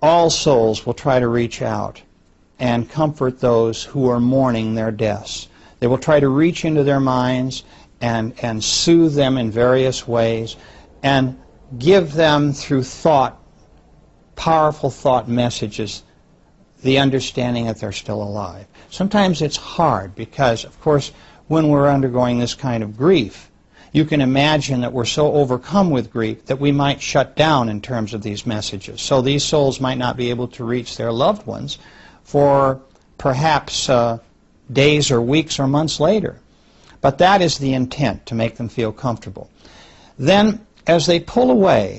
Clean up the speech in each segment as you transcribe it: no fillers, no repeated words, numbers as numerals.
all souls will try to reach out and comfort those who are mourning their deaths. They will try to reach into their minds and soothe them in various ways and give them through thought, powerful thought messages, the understanding that they're still alive. Sometimes it's hard because, of course, when we're undergoing this kind of grief, you can imagine that we're so overcome with grief that we might shut down in terms of these messages. So these souls might not be able to reach their loved ones for perhaps days or weeks or months later. But that is the intent, to make them feel comfortable. Then, as they pull away,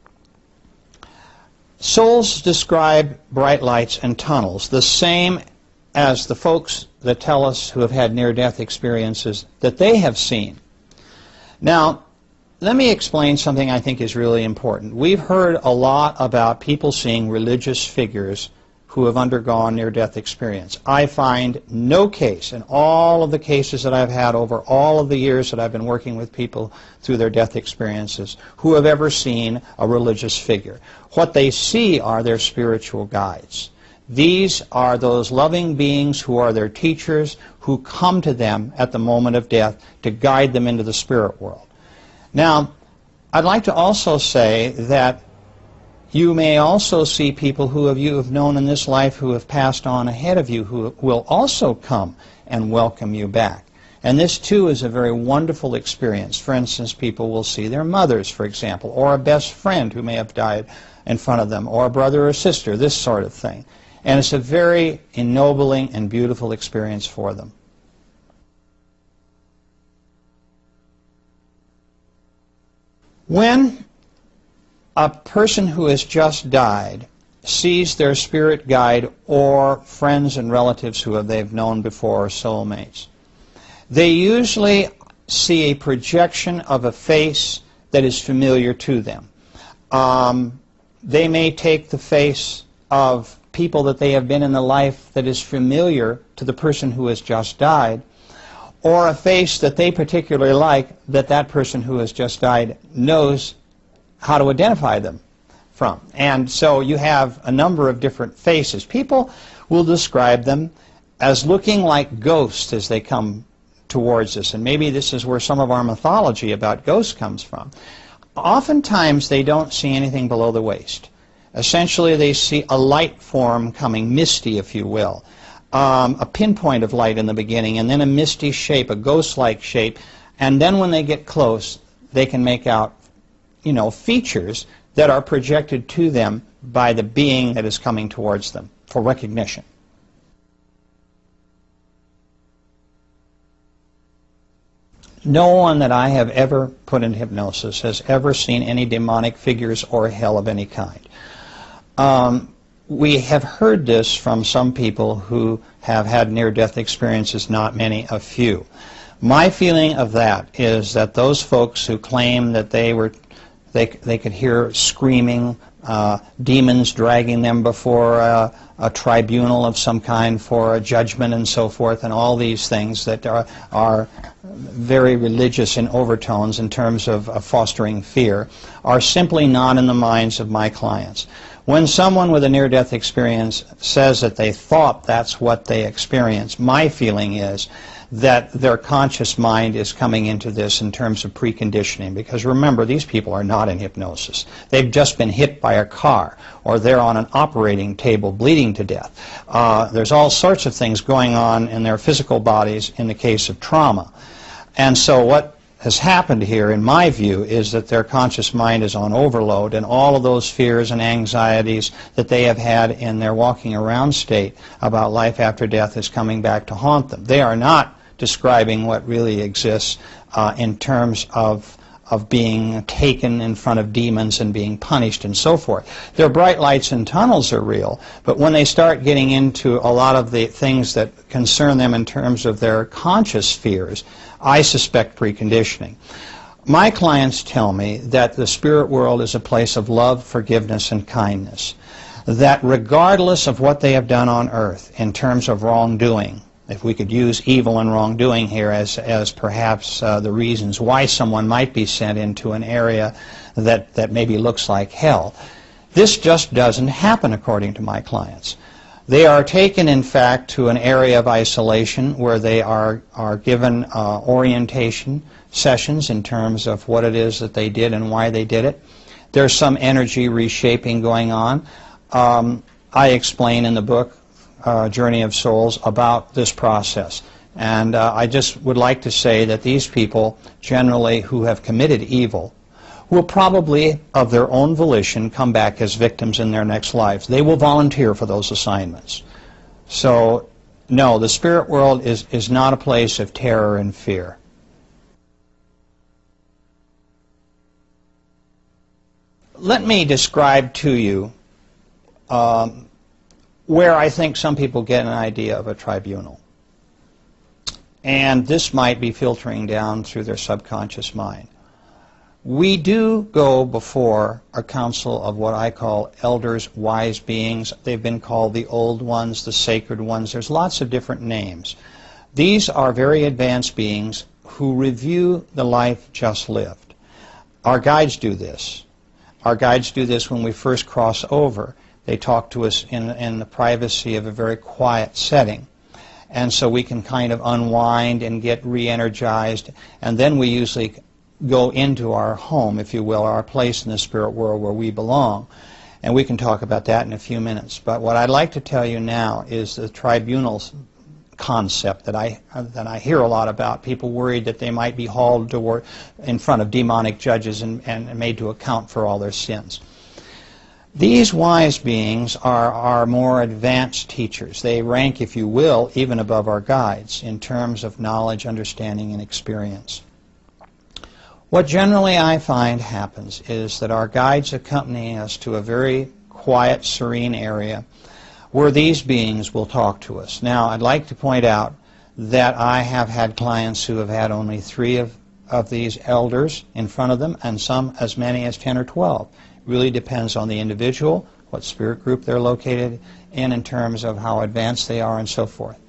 souls describe bright lights and tunnels, the same as the folks that tell us who have had near-death experiences that they have seen. Now, let me explain something I think is really important. We've heard a lot about people seeing religious figures who have undergone near-death experience. I find no case in all of the cases that I've had over all of the years that I've been working with people through their death experiences who have ever seen a religious figure. What they see are their spiritual guides. These are those loving beings who are their teachers, who come to them at the moment of death to guide them into the spirit world. Now, I'd like to also say that you may also see people who you have known in this life who have passed on ahead of you who will also come and welcome you back. And this, too, is a very wonderful experience. For instance, people will see their mothers, for example, or a best friend who may have died in front of them, or a brother or sister, this sort of thing. And it's a very ennobling and beautiful experience for them. When a person who has just died sees their spirit guide or friends and relatives who they've known before, or soulmates, they usually see a projection of a face that is familiar to them. They may take the face of people that they have been in the life that is familiar to the person who has just died, or a face that they particularly like that that person who has just died knows how to identify them from. And so you have a number of different faces. People will describe them as looking like ghosts as they come towards us, and maybe this is where some of our mythology about ghosts comes from. Oftentimes they don't see anything below the waist. Essentially they see a light form coming, misty if you will, a pinpoint of light in the beginning, and then a misty shape, a ghost-like shape, and then when they get close they can make out, you know, features that are projected to them by the being that is coming towards them for recognition. No one that I have ever put in hypnosis has ever seen any demonic figures or hell of any kind. We have heard this from some people who have had near-death experiences, not many, a few. My feeling of that is that those folks who claim that they could hear screaming, demons dragging them before a tribunal of some kind for a judgment and so forth, and all these things that are very religious in overtones in terms of fostering fear, are simply not in the minds of my clients. When someone with a near-death experience says that they thought that's what they experienced, my feeling is that their conscious mind is coming into this in terms of preconditioning. Because remember, these people are not in hypnosis. They've just been hit by a car, or they're on an operating table bleeding to death. There's all sorts of things going on in their physical bodies in the case of trauma. And so what has happened here, in my view, is that their conscious mind is on overload, and all of those fears and anxieties that they have had in their walking around state about life after death is coming back to haunt them. They are not describing what really exists in terms of being taken in front of demons and being punished and so forth. Their bright lights and tunnels are real, but when they start getting into a lot of the things that concern them in terms of their conscious fears, I suspect preconditioning. My clients tell me that the spirit world is a place of love, forgiveness, and kindness. That regardless of what they have done on earth in terms of wrongdoing, if we could use evil and wrongdoing here as perhaps the reasons why someone might be sent into an area that maybe looks like hell, This just doesn't happen according to my clients. They are taken, in fact, to an area of isolation where they are given orientation sessions in terms of what it is that they did and why they did it. There's some energy reshaping going on. I explain in the book, Journey of Souls, about this process. And I just would like to say that these people, generally who have committed evil, will probably, of their own volition, come back as victims in their next lives. They will volunteer for those assignments. So, no, the spirit world is not a place of terror and fear. Let me describe to you where I think some people get an idea of a tribunal. And this might be filtering down through their subconscious mind. We do go before a council of what I call elders, wise beings. They've been called the old ones, the sacred ones. There's lots of different names. These are very advanced beings who review the life just lived. Our guides do this. Our guides do this when we first cross over. They talk to us in the privacy of a very quiet setting. And so we can kind of unwind and get re-energized. And then we usually go into our home, if you will, our place in the spirit world where we belong. And we can talk about that in a few minutes. But what I'd like to tell you now is the tribunals concept that I hear a lot about. People worried that they might be hauled in front of demonic judges and made to account for all their sins. These wise beings are more advanced teachers. They rank, if you will, even above our guides in terms of knowledge, understanding, and experience. What generally I find happens is that our guides accompany us to a very quiet, serene area where these beings will talk to us. Now, I'd like to point out that I have had clients who have had only 3 of these elders in front of them, and some as many as 10 or 12. It really depends on the individual, what spirit group they're located in terms of how advanced they are and so forth.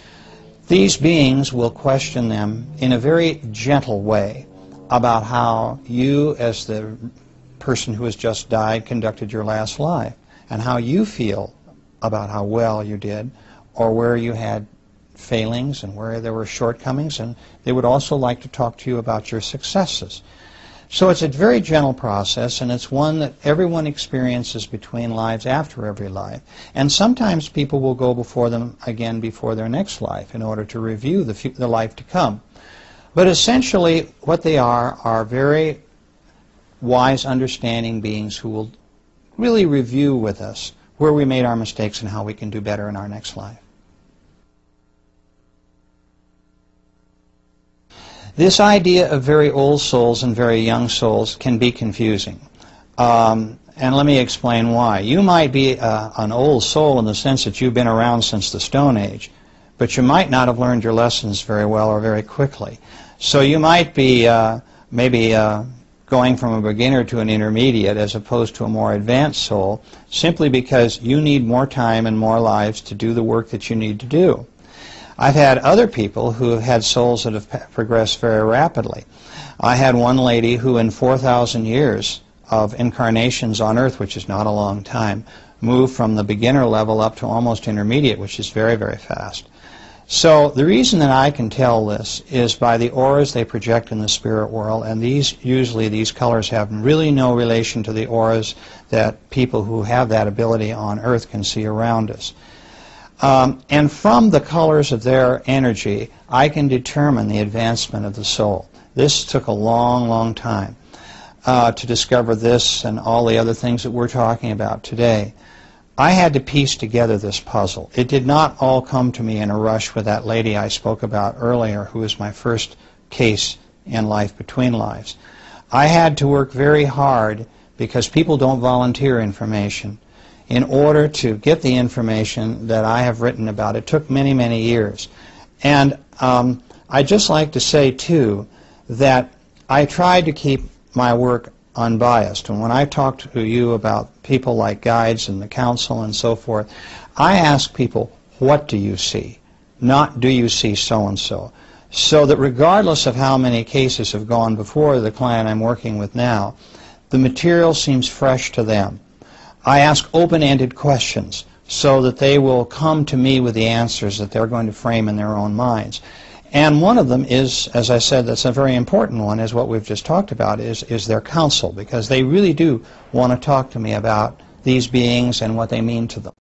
These beings will question them in a very gentle way about how you, as the person who has just died, conducted your last life, and how you feel about how well you did, or where you had failings and where there were shortcomings, and they would also like to talk to you about your successes. So it's a very gentle process, and it's one that everyone experiences between lives, after every life. And sometimes people will go before them again before their next life in order to review the life to come. But essentially, what they are very wise, understanding beings who will really review with us where we made our mistakes and how we can do better in our next life. This idea of very old souls and very young souls can be confusing. And let me explain why. You might be an old soul in the sense that you've been around since the Stone Age, but you might not have learned your lessons very well or very quickly. So you might be maybe going from a beginner to an intermediate as opposed to a more advanced soul, simply because you need more time and more lives to do the work that you need to do. I've had other people who have had souls that have progressed very rapidly. I had one lady who in 4,000 years of incarnations on Earth, which is not a long time, moved from the beginner level up to almost intermediate, which is very, very fast. So the reason that I can tell this is by the auras they project in the spirit world, and usually these colors have really no relation to the auras that people who have that ability on Earth can see around us. And from the colors of their energy, I can determine the advancement of the soul. This took a long, long time to discover this and all the other things that we're talking about today. I had to piece together this puzzle. It did not all come to me in a rush with that lady I spoke about earlier, who was my first case in Life Between Lives. I had to work very hard, because people don't volunteer information, in order to get the information that I have written about. It took many, many years. And I'd just like to say, too, that I tried to keep my work unbiased. And when I talk to you about people like guides and the council and so forth, I ask people, what do you see? Not, do you see so-and-so? So that regardless of how many cases have gone before the client I'm working with now, the material seems fresh to them. I ask open-ended questions so that they will come to me with the answers that they're going to frame in their own minds. And one of them is, as I said, that's a very important one, is what we've just talked about, is their counsel, because they really do want to talk to me about these beings and what they mean to them.